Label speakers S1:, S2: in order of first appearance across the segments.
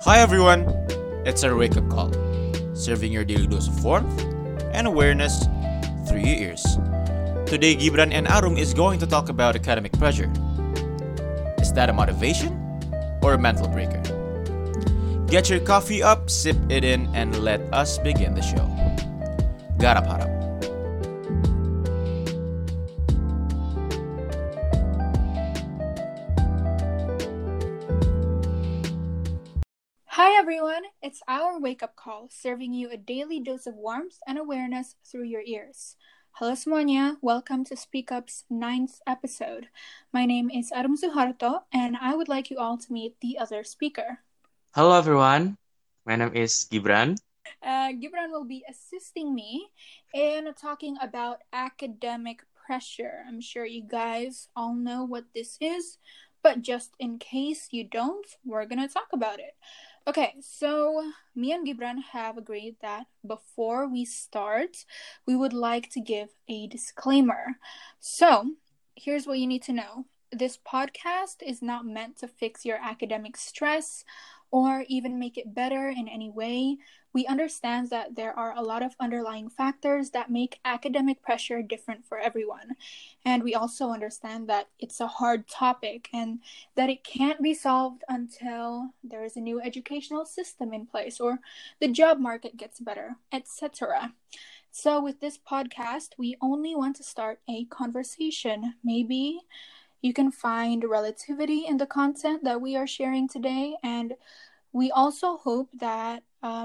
S1: Hi everyone, it's our wake up call, serving your daily dose of warmth and awareness through your ears. Today, Gibran and Arum is going to talk about academic pressure. Is that a motivation or a mental breaker? Get your coffee up, sip it in, and let us begin the show. Garap harap.
S2: Hi everyone, it's our wake up call, serving you a daily dose of warmth and awareness through your ears. Halo semuanya, welcome to Speak Up's 9th episode. My name is Arum Suharto, and I would like you all to meet the other speaker.
S3: Hello everyone, my name is Gibran.
S2: Gibran will be assisting me in talking about academic pressure. I'm sure you guys all know what this is, but just in case you don't, we're gonna talk about it. Okay, so me and Gibran have agreed that before we start, we would like to give a disclaimer. So, here's what you need to know. This podcast is not meant to fix your academic stress or even make it better in any way. We understand that there are a lot of underlying factors that make academic pressure different for everyone. And we also understand that it's a hard topic and that it can't be solved until there is a new educational system in place or the job market gets better, etc. So with this podcast, we only want to start a conversation. Maybe you can find relativity in the content that we are sharing today, and we also hope that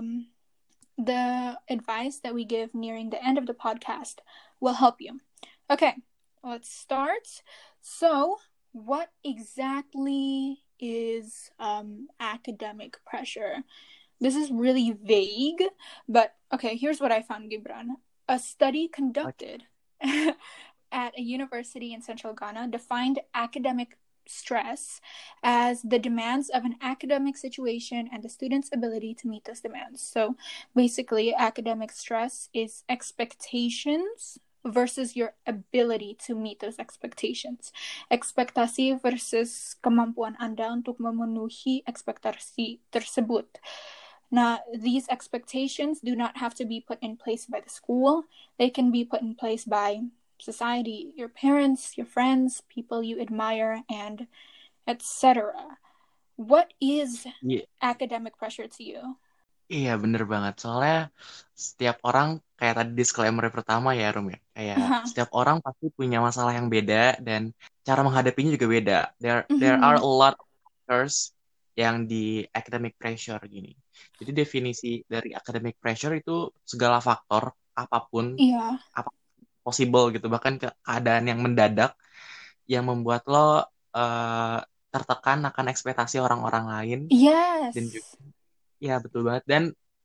S2: the advice that we give nearing the end of the podcast will help you. Okay, let's start. So, what exactly is academic pressure? This is really vague, but okay, here's what I found, Gibran. A study conducted at a university in central Ghana defined academic stress as the demands of an academic situation and the student's ability to meet those demands. So basically, academic stress is expectations versus your ability to meet those expectations. Ekspektasi versus kemampuan Anda untuk memenuhi ekspektasi tersebut. Now, these expectations do not have to be put in place by the school. They can be put in place by society, your parents, your friends, people you admire, and etc. What is academic pressure to you?
S3: Iya bener banget, soalnya setiap orang kayak tadi disclaimer pertama ya Rum ya. Kayak setiap orang pasti punya masalah yang beda dan cara menghadapinya juga beda. There are a lot of factors yang di academic pressure gini. Jadi definisi dari academic pressure itu segala faktor apapun, apa possible gitu, bahkan keadaan yang mendadak yang membuat lo tertekan akan ekspektasi orang-orang lain.
S2: Yes.
S3: Dan juga, ya betul banget. Dan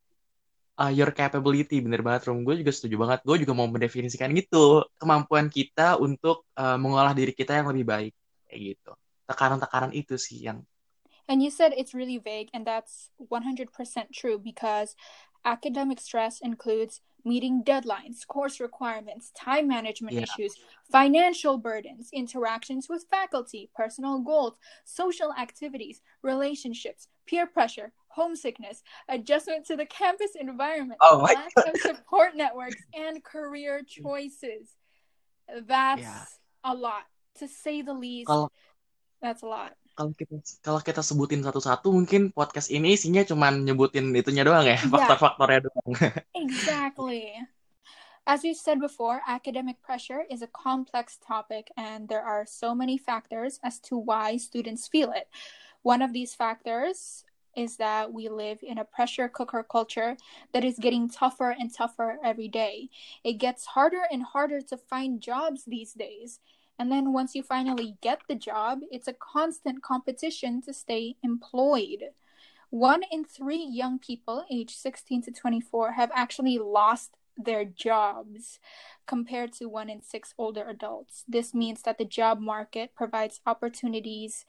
S3: your capability, bener banget Rum. Gue juga setuju banget. Gue juga mau mendefinisikan gitu. Kemampuan kita untuk mengolah diri kita yang lebih baik. Kayak gitu. Tekanan-tekanan itu sih yang...
S2: And you said it's really vague, and that's 100% true because academic stress includes meeting deadlines, course requirements, time management issues, financial burdens, interactions with faculty, personal goals, social activities, relationships, peer pressure, homesickness, adjustment to the campus environment, lack of support networks, and career choices. That's a lot. To say the least, that's a lot.
S3: Kalau kita sebutin satu-satu, mungkin podcast ini isinya cuma nyebutin itunya doang ya, faktor-faktornya doang.
S2: Exactly. As we've said before, academic pressure is a complex topic, and there are so many factors as to why students feel it. One of these factors is that we live in a pressure cooker culture that is getting tougher and tougher every day. It gets harder and harder to find jobs these days. And then once you finally get the job, it's a constant competition to stay employed. 1 in 3 young people aged 16 to 24 have actually lost their jobs compared to 1 in 6 older adults. This means that the job market provides opportunities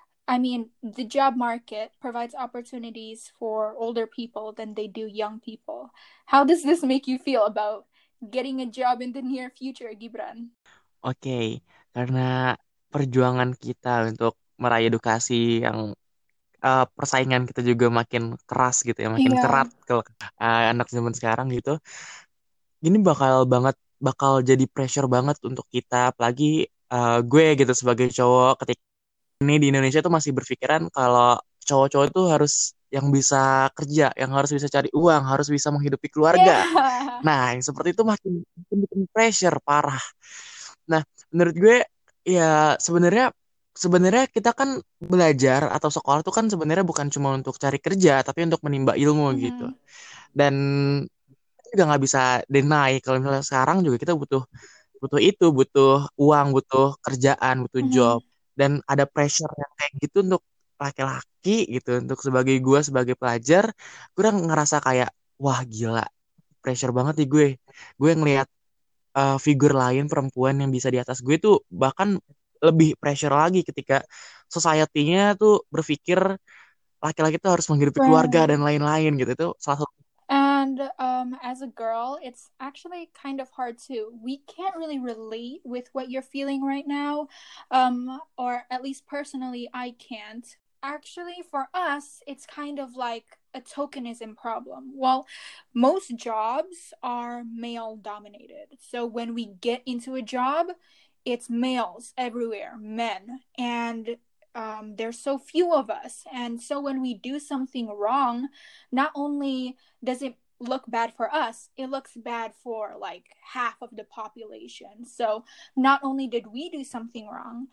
S2: for older people than they do young people. How does this make you feel about getting a job in the near future, Gibran?
S3: Oke, karena perjuangan kita untuk meraih edukasi yang persaingan kita juga makin keras gitu ya, makin
S2: Iya.
S3: kerat kalau anak zaman sekarang gitu. Ini bakal jadi pressure banget untuk kita, apalagi gue gitu sebagai cowok ketika ini di Indonesia tuh masih berpikiran kalau cowok-cowok itu harus yang bisa kerja, yang harus bisa cari uang, harus bisa menghidupi keluarga.
S2: Yeah.
S3: Nah, yang seperti itu makin bikin pressure parah. Nah, menurut gue ya sebenarnya sebenarnya kita kan belajar atau sekolah tuh kan sebenarnya bukan cuma untuk cari kerja, tapi untuk menimba ilmu gitu.
S2: Mhm.
S3: Dan kita juga nggak bisa deny kalau misalnya sekarang juga kita butuh butuh itu, butuh uang, butuh kerjaan, butuh job.
S2: Mhm.
S3: Dan ada pressure yang kayak gitu untuk laki-laki gitu, untuk sebagai gue sebagai pelajar, gue udah ngerasa kayak wah gila, pressure banget nih gue. Gue ngelihat figur lain perempuan yang bisa di atas gue tuh bahkan lebih pressure lagi ketika society-nya tuh berpikir laki-laki tuh harus menghidupi keluarga
S2: Right.
S3: dan lain-lain gitu. Itu salah satu.
S2: And as a girl, it's actually kind of hard too. We can't really relate with what you're feeling right now, or at least personally, I can't. Actually, for us, it's kind of like a tokenism problem. Well, most jobs are male dominated. So when we get into a job, it's males everywhere, men. And there's so few of us. And so when we do something wrong, not only does it look bad for us, it looks bad for like half of the population. So not only did we do something wrong,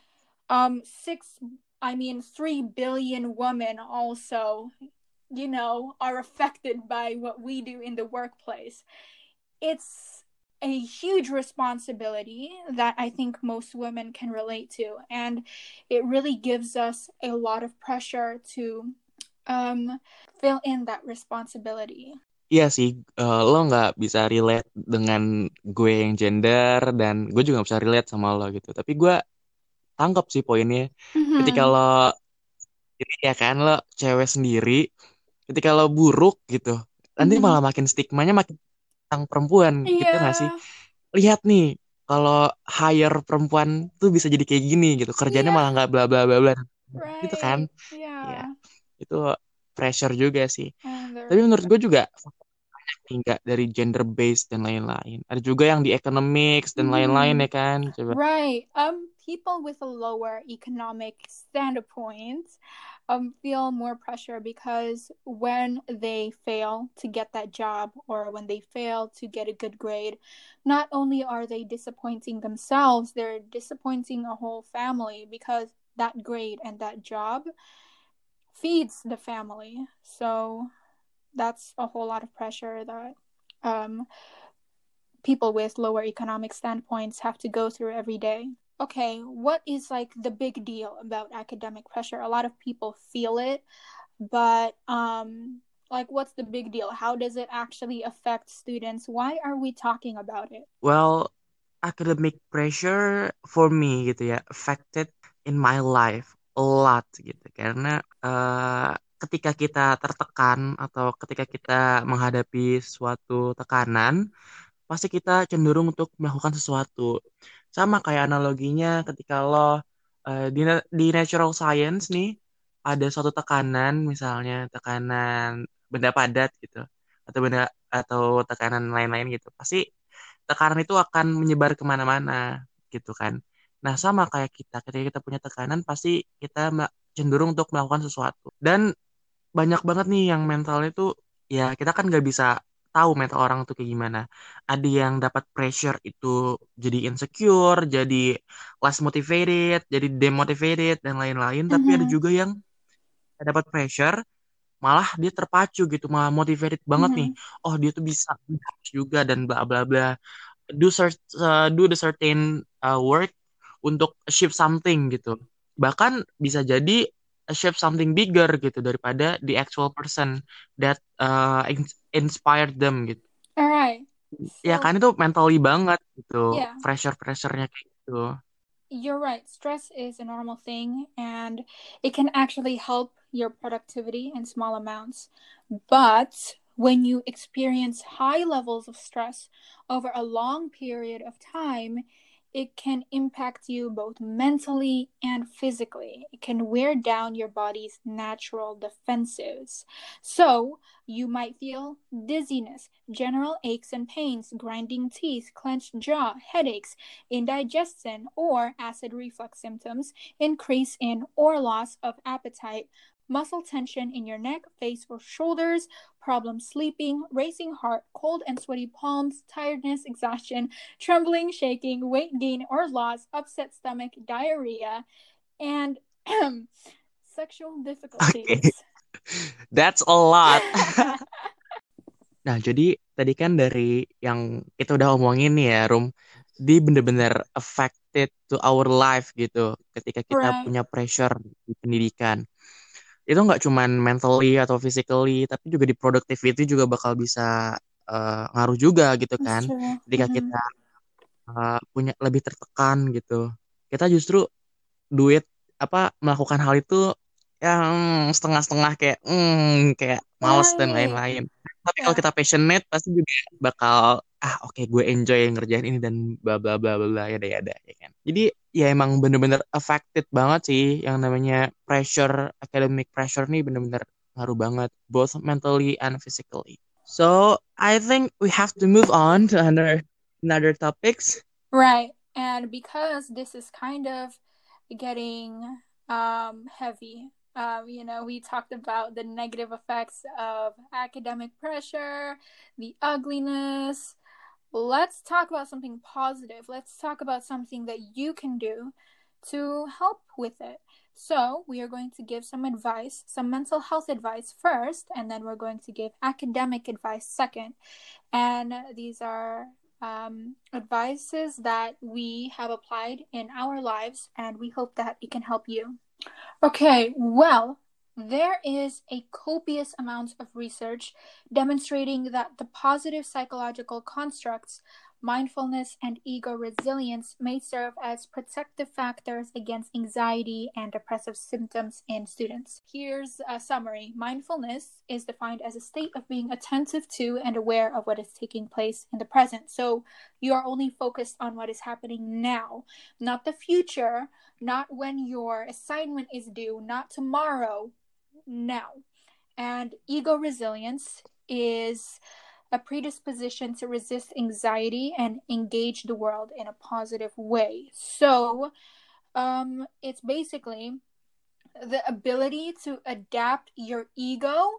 S2: 3 billion women also, are affected by what we do in the workplace. It's a huge responsibility that I think most women can relate to. And it really gives us a lot of pressure to fill in that responsibility.
S3: Iya sih, lo nggak bisa relate dengan gue yang gender dan gue juga nggak bisa relate sama lo gitu. Tapi gue tangkap sih poinnya. Ketika
S2: Mm-hmm.
S3: lo ini ya kan lo cewek sendiri, ketika lo buruk gitu, nanti
S2: Mm-hmm.
S3: malah makin stigmanya makin tentang perempuan gitu nggak sih?
S2: Yeah.
S3: Lihat nih, kalau hire perempuan tuh bisa jadi kayak gini gitu, kerjanya
S2: Yeah.
S3: malah nggak bla bla bla bla gitu kan?
S2: Right.
S3: Ya,
S2: Yeah.
S3: itu pressure juga sih.
S2: And
S3: Tapi
S2: there's
S3: menurut gue juga nggak dari gender based dan lain-lain. Ada juga yang di economics dan lain-lain
S2: mm-hmm.
S3: ya kan? Coba.
S2: Right. People with a lower economic standpoint feel more pressure because when they fail to get that job or when they fail to get a good grade, not only are they disappointing themselves, they're disappointing a whole family because that grade and that job feeds the family. So that's a whole lot of pressure that um, people with lower economic standpoints have to go through every day. Okay, what is like the big deal about academic pressure? A lot of people feel it, but like what's the big deal? How does it actually affect students? Why are we talking about it?
S3: Well, academic pressure for me gitu ya, affected in my life a lot gitu. Karena ketika kita tertekan atau ketika kita menghadapi suatu tekanan, pasti kita cenderung untuk melakukan sesuatu. Sama kayak analoginya ketika lo di natural science nih ada suatu tekanan, misalnya tekanan benda padat gitu atau tekanan lain-lain gitu. Pasti tekanan itu akan menyebar kemana-mana gitu kan. Nah sama kayak kita, ketika kita punya tekanan pasti kita cenderung untuk melakukan sesuatu. Dan banyak banget nih yang mentalnya tuh ya kita kan nggak bisa tahu mental orang tuh kayak gimana. Ada yang dapat pressure itu jadi insecure, jadi less motivated, jadi demotivated dan lain-lain. Tapi ada
S2: Mm-hmm.
S3: juga yang dapat pressure malah dia terpacu gitu, malah motivated banget nih.
S2: Mm-hmm.
S3: Oh dia tuh bisa juga dan bla bla bla. Do the certain work untuk achieve something gitu. Bahkan bisa jadi achieve something bigger gitu daripada the actual person that inspired them gitu.
S2: All right.
S3: Ya
S2: So,
S3: kan itu mentally banget gitu,
S2: yeah.
S3: pressure-pressurenya kayak gitu.
S2: You're right. Stress is a normal thing and it can actually help your productivity in small amounts. But when you experience high levels of stress over a long period of time, it can impact you both mentally and physically. It can wear down your body's natural defenses. So, you might feel dizziness, general aches and pains, grinding teeth, clenched jaw, headaches, indigestion, or acid reflux symptoms, increase in or loss of appetite, muscle tension in your neck, face, or shoulders, problem sleeping, racing heart, cold and sweaty palms, tiredness, exhaustion, trembling, shaking, weight gain or loss, upset stomach, diarrhea, and sexual
S3: Oke,
S2: difficulties.
S3: that's a lot. Nah, jadi tadi kan dari yang kita udah omongin nih ya, Rum, dia bener-bener affected to our life gitu ketika kita
S2: Right.
S3: punya pressure di pendidikan. Itu nggak cuman mentally atau physically, tapi juga di productivity juga bakal bisa ngaruh juga gitu
S2: That's
S3: kan.
S2: true.
S3: Ketika
S2: Mhm.
S3: kita punya lebih tertekan gitu, kita justru duit melakukan hal itu yang setengah-setengah kayak males dan
S2: Right.
S3: lain-lain. Tapi kalau
S2: Yeah.
S3: kita passionate pasti juga bakal oke, gue enjoy ngerjain ini dan bla bla bla bla bla ya kan. Jadi ya emang bener-bener affected banget sih yang namanya pressure, academic pressure nih bener-bener ngaruh banget both mentally and physically. So I think we have to move on to another topics.
S2: Right. And because this is kind of getting heavy, we talked about the negative effects of academic pressure, the ugliness. Let's talk about something positive. Let's talk about something that you can do to help with it. So, we are going to give some advice, some mental health advice first, and then we're going to give academic advice second. And these are advices that we have applied in our lives, and we hope that it can help you. Okay, well, there is a copious amount of research demonstrating that the positive psychological constructs, mindfulness, and ego resilience may serve as protective factors against anxiety and depressive symptoms in students. Here's a summary. Mindfulness is defined as a state of being attentive to and aware of what is taking place in the present. So you are only focused on what is happening now, not the future, not when your assignment is due, not tomorrow, now. And ego resilience is a predisposition to resist anxiety and engage the world in a positive way. So, it's basically the ability to adapt your ego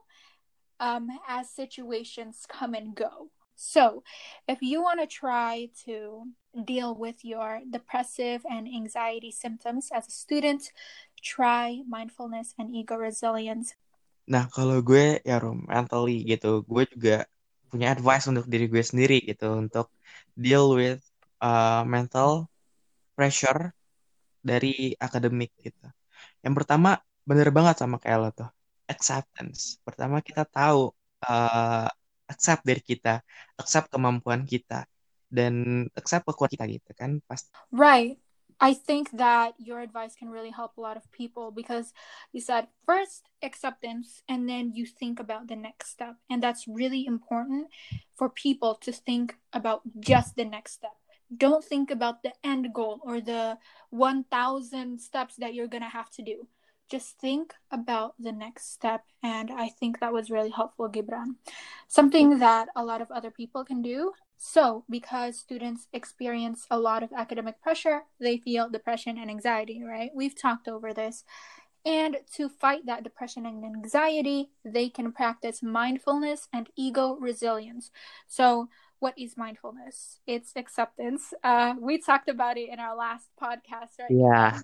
S2: as situations come and go. So, if you want to try to deal with your depressive and anxiety symptoms as a student, try mindfulness and ego resilience.
S3: Nah, kalau gue ya Rom, mentally gitu, gue juga punya advice untuk diri gue sendiri gitu untuk deal with mental pressure dari akademik gitu. Yang pertama, bener banget sama kayak lo tuh, acceptance. Pertama kita tahu uh, accept dari kita, accept kemampuan kita, dan accept kekuatan kita gitu kan. Pasti.
S2: Right. I think that your advice can really help a lot of people because you said first acceptance and then you think about the next step. And that's really important for people to think about just the next step. Don't think about the end goal or the 1,000 steps that you're going to have to do. Just think about the next step. And I think that was really helpful, Gibran. Something that a lot of other people can do. So, because students experience a lot of academic pressure, they feel depression and anxiety, right? We've talked over this. And to fight that depression and anxiety, they can practice mindfulness and ego resilience. So, what is mindfulness? It's acceptance. We talked about it in our last podcast, right?
S3: Yeah.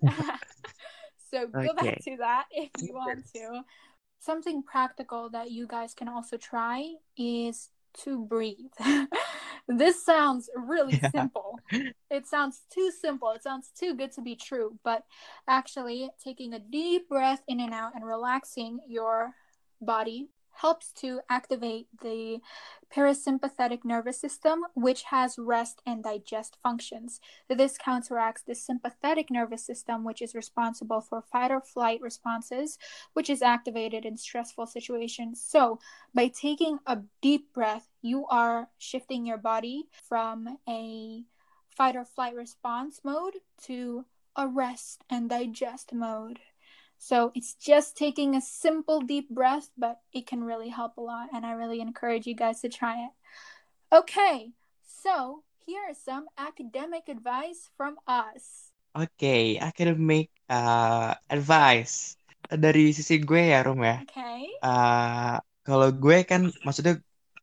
S2: So, go
S3: Okay.
S2: back to that if you want to. Something practical that you guys can also try is to breathe. This sounds really simple. It sounds too simple. It sounds too good to be true. But actually, taking a deep breath in and out and relaxing your body helps to activate the parasympathetic nervous system, which has rest and digest functions. This counteracts the sympathetic nervous system, which is responsible for fight or flight responses, which is activated in stressful situations. So, by taking a deep breath, you are shifting your body from a fight or flight response mode to a rest and digest mode. So it's just taking a simple deep breath, but it can really help a lot, and I really encourage you guys to try it. Okay, so here is some academic advice from us.
S3: Oke, academic advice dari sisi gue ya, Rum ya.
S2: Okay.
S3: Kalau gue kan, maksudnya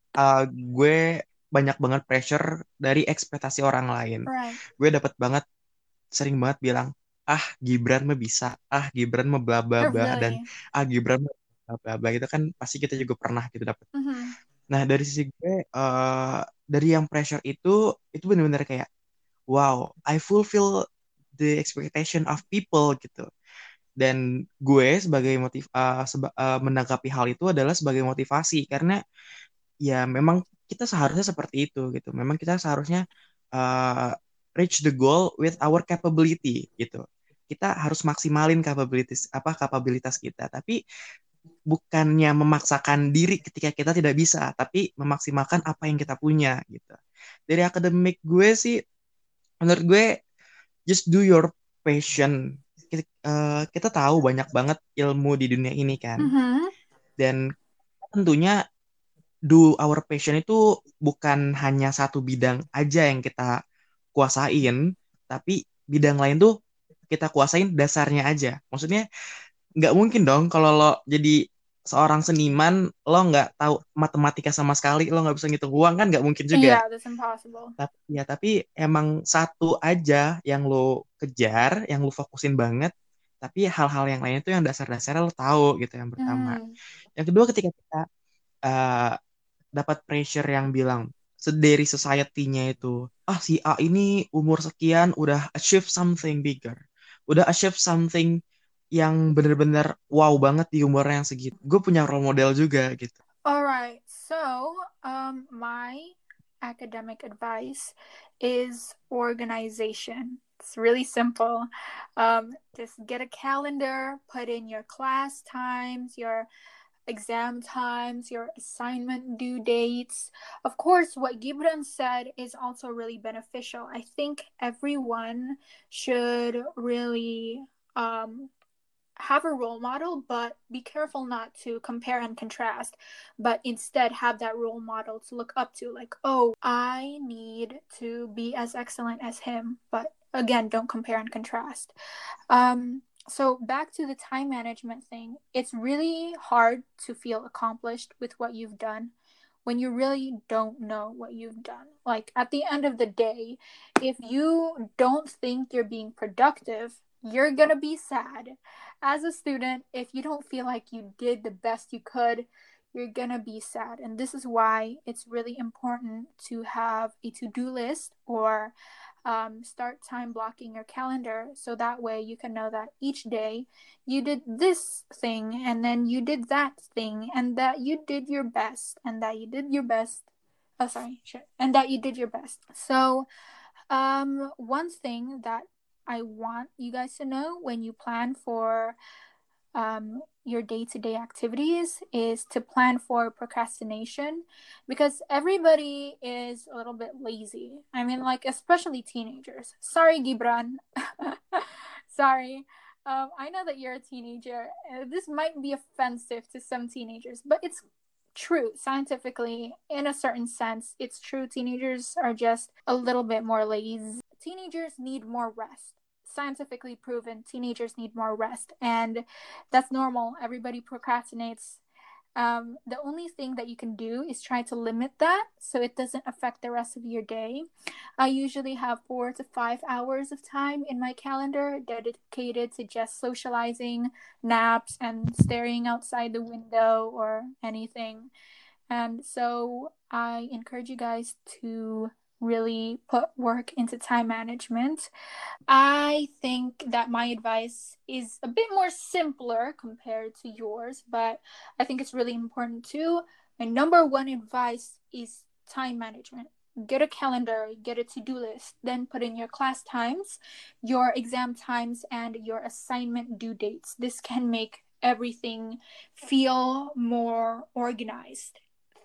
S3: gue banyak banget pressure dari ekspektasi orang lain.
S2: Right.
S3: Gue dapat banget, sering banget bilang, Gibran mah bisa, Gibran mah bla bla bla, dan
S2: Really.
S3: Gibran mah bla bla bla, itu kan pasti kita juga pernah gitu dapat.
S2: Mm-hmm.
S3: Nah, dari sisi gue, dari yang pressure itu benar-benar kayak, wow, I fulfill the expectation of people gitu. Dan gue sebagai menanggapi hal itu adalah sebagai motivasi, karena ya memang kita seharusnya seperti itu gitu. Memang kita seharusnya uh, reach the goal with our capability gitu. Kita harus maksimalin kapabilitas kita, tapi bukannya memaksakan diri ketika kita tidak bisa, tapi memaksimalkan apa yang kita punya gitu. Dari akademik gue sih, menurut gue, just do your passion. Kita tahu banyak banget ilmu di dunia ini kan,
S2: Mm-hmm.
S3: dan tentunya do our passion itu bukan hanya satu bidang aja yang kita kuasain, tapi bidang lain tuh kita kuasain dasarnya aja. Maksudnya nggak mungkin dong kalau lo jadi seorang seniman, lo nggak tahu matematika sama sekali, lo nggak bisa ngitung uang, kan nggak mungkin juga.
S2: Yeah, that's impossible.
S3: Tapi emang satu aja yang lo kejar, yang lo fokusin banget, tapi hal-hal yang lain itu yang dasar-dasarnya lo tahu gitu, yang pertama. Yang kedua, ketika kita uh, dapat pressure yang bilang dari society-nya itu, si A ini umur sekian udah achieve something bigger, udah achieve something yang bener-bener wow banget di umur yang segitu. Gue punya role model juga gitu.
S2: Alright, so my academic advice is organization. It's really simple. Just get a calendar, put in your class times, your exam times, your assignment due dates. Of course, what Gibran said is also really beneficial. I think everyone should really have a role model, but be careful not to compare and contrast, but instead have that role model to look up to, like, oh, I need to be as excellent as him. But again, don't compare and contrast. So back to the time management thing, it's really hard to feel accomplished with what you've done when you really don't know what you've done. Like, at the end of the day, if you don't think you're being productive, you're gonna be sad. As a student, if you don't feel like you did the best you could, you're gonna be sad. And this is why it's really important to have a to-do list, or start time blocking your calendar, so that way you can know that each day you did this thing, and then you did that thing, and that you did your best, and that you did your best. And that you did your best. So, one thing that I want you guys to know when you plan for your day-to-day activities is to plan for procrastination, because everybody is a little bit lazy. I mean, like, especially teenagers. Sorry, Gibran. Sorry. I know that you're a teenager. This might be offensive to some teenagers, but it's true. Scientifically, in a certain sense, it's true. Teenagers are just a little bit more lazy. Teenagers need more rest. Scientifically proven, teenagers need more rest, and that's normal. Everybody procrastinates. The only thing that you can do is try to limit that so it doesn't affect the rest of your day. I usually have 4 to 5 hours of time in my calendar dedicated to just socializing, naps, and staring outside the window or anything. And so I encourage you guys to really put work into time management. I think that my advice is a bit more simpler compared to yours, but I think it's really important too. My number one advice is time management. Get a calendar, get a to-do list, then put in your class times, your exam times, and your assignment due dates. This can make everything feel more organized.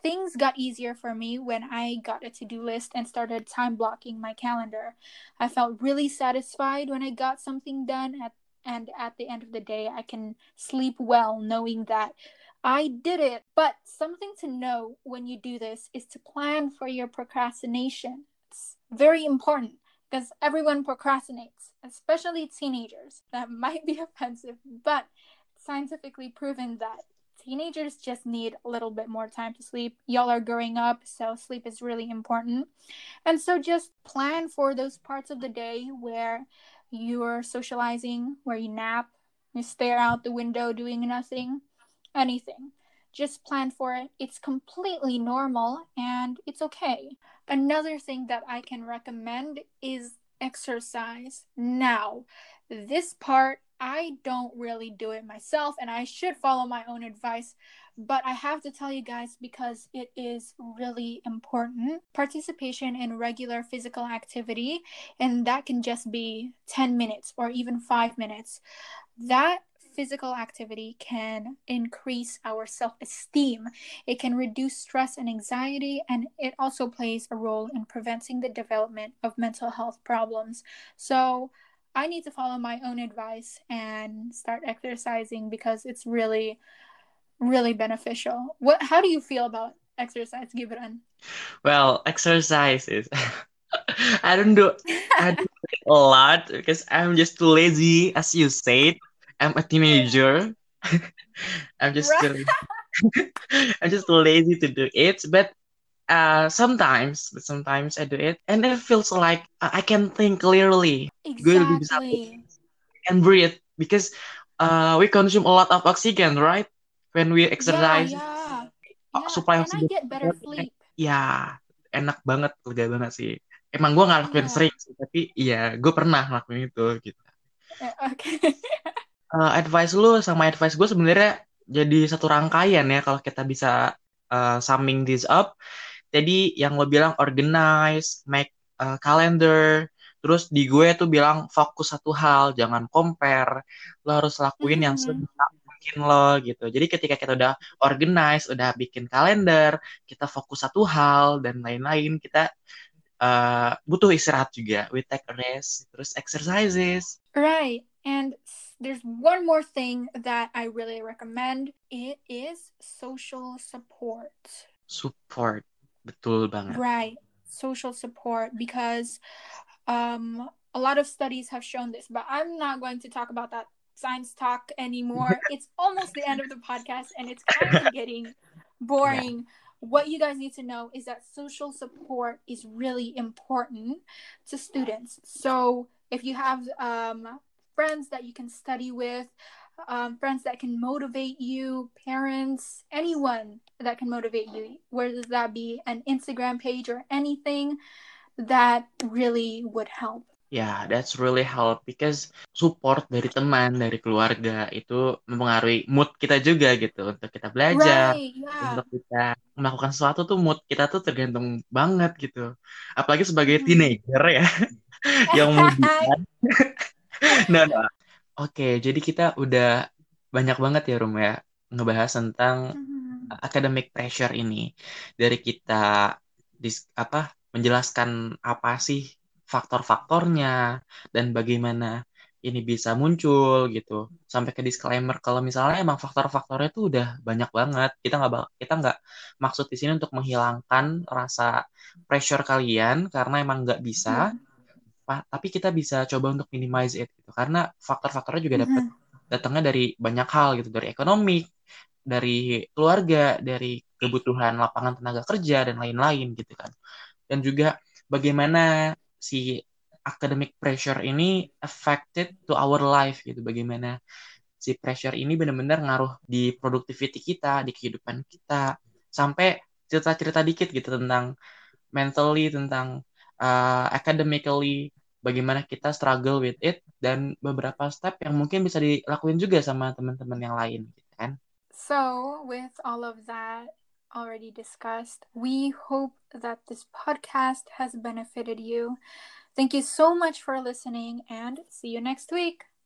S2: things got easier for me when I got a to-do list and started time blocking my calendar. I felt really satisfied when I got something done and at the end of the day I can sleep well knowing that I did it. But something to know when you do this is to plan for your procrastination. It's very important because everyone procrastinates, especially teenagers. That might be offensive, but it's scientifically proven that teenagers just need a little bit more time to sleep. Y'all are growing up, so sleep is really important. And so just plan for those parts of the day where you're socializing, where you nap, you stare out the window doing nothing, anything. Just plan for it. It's completely normal and it's okay. Another thing that I can recommend is exercise. Now, this part, I don't really do it myself and I should follow my own advice, but I have to tell you guys because it is really important. Participation in regular physical activity, and that can just be 10 minutes or even 5 minutes. That physical activity can increase our self-esteem. It can reduce stress and anxiety, and it also plays a role in preventing the development of mental health problems. So I need to follow my own advice and start exercising because it's really, really beneficial. How do you feel about exercise, Gibran?
S3: Well, exercise is I don't do it a lot because I'm just too lazy, as you said. I'm a teenager. I'm just
S2: Right.
S3: too, I'm just too lazy to do it. But sometimes I do it, and it feels like I can think clearly. Gue lebih bisa
S2: Exactly.
S3: and breathe because we consume a lot of oxygen, right? When we
S2: Yeah,
S3: exercise,
S2: yeah. Yeah,
S3: supply
S2: and I
S3: oksigen
S2: get better sleep.
S3: ya enak banget, lega banget sih. Emang gue nggak lakuin
S2: Yeah.
S3: sering sih, tapi ya gue pernah lakuin itu gitu.
S2: Okay.
S3: Advice lu sama advice gue sebenarnya jadi satu rangkaian ya kalau kita bisa summing this up. Jadi yang lo bilang organize, make calendar, terus di gue tuh bilang fokus satu hal, jangan compare. Lo harus lakuin yang
S2: Mm-hmm.
S3: sebisa mungkin lo gitu. Jadi ketika kita udah organize, udah bikin kalender, kita fokus satu hal dan lain-lain, kita butuh istirahat juga. We take a rest, terus exercises.
S2: Right. And there's one more thing that I really recommend. It is social support.
S3: Support, betul banget.
S2: Right. Social support because a lot of studies have shown this, but I'm not going to talk about that science talk anymore. It's almost the end of the podcast and it's kind of getting boring. Yeah. What you guys need to know is that social support is really important to students. So if you have friends that you can study with, friends that can motivate you, parents, anyone that can motivate you, whether that be an Instagram page or anything, that really would help.
S3: Yeah, that's really help because support dari teman, dari keluarga itu mempengaruhi mood kita juga gitu untuk kita belajar,
S2: Right, yeah.
S3: untuk kita melakukan sesuatu tuh mood kita tuh tergantung banget gitu. Apalagi sebagai
S2: Mm-hmm.
S3: teenager ya, yang mudian. Nah, Oke, jadi kita udah banyak banget ya Rum ya ngebahas tentang academic pressure ini. Dari kita menjelaskan apa sih faktor-faktornya dan bagaimana ini bisa muncul gitu. Sampai ke disclaimer kalau misalnya emang faktor-faktornya tuh udah banyak banget. Kita nggak maksud di sini untuk menghilangkan rasa pressure kalian karena emang nggak bisa. Tapi kita bisa coba untuk minimize it gitu. Karena faktor-faktornya juga datangnya dari banyak hal gitu, dari ekonomi, dari keluarga, dari kebutuhan lapangan tenaga kerja dan lain-lain gitu kan. Dan juga bagaimana si academic pressure ini affected to our life gitu. Bagaimana si pressure ini benar-benar ngaruh di productivity kita, di kehidupan kita. Sampai cerita-cerita dikit gitu tentang mentally, tentang academically, bagaimana kita struggle with it, dan beberapa step yang mungkin bisa dilakuin juga sama teman-teman yang lain gitu kan.
S2: So, with all of that already discussed, we hope that this podcast has benefited you. Thank you so much for listening and see you next week.